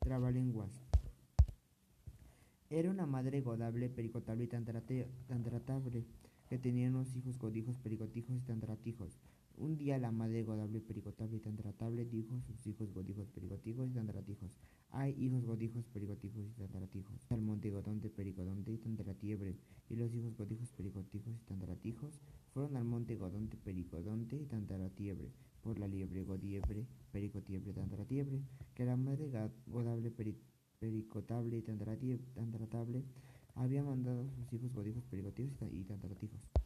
Trabalenguas. Era una madre godable, pericotable y tan tratable, que tenía unos hijos godijos, pericotijos y tan tratijos. Un día la madre godable, pericotable y tan tratable dijo a sus hijos godijos, pericotijos y tan tratijos: ay, hijos godijos, pericotijos y tan tratijos, al monte godonte, pericodonte y tan tratiebre. Y los hijos godijos, pericotijos y tan tratijos fueron al monte godonte, pericodonte y tan tratiebre, por la liebre, godiebre, pericotiebre, tan tratiebre, que la madre godable, pericotable y tan tratable había mandado a sus hijos godijos, pericotijos y tan tratijos.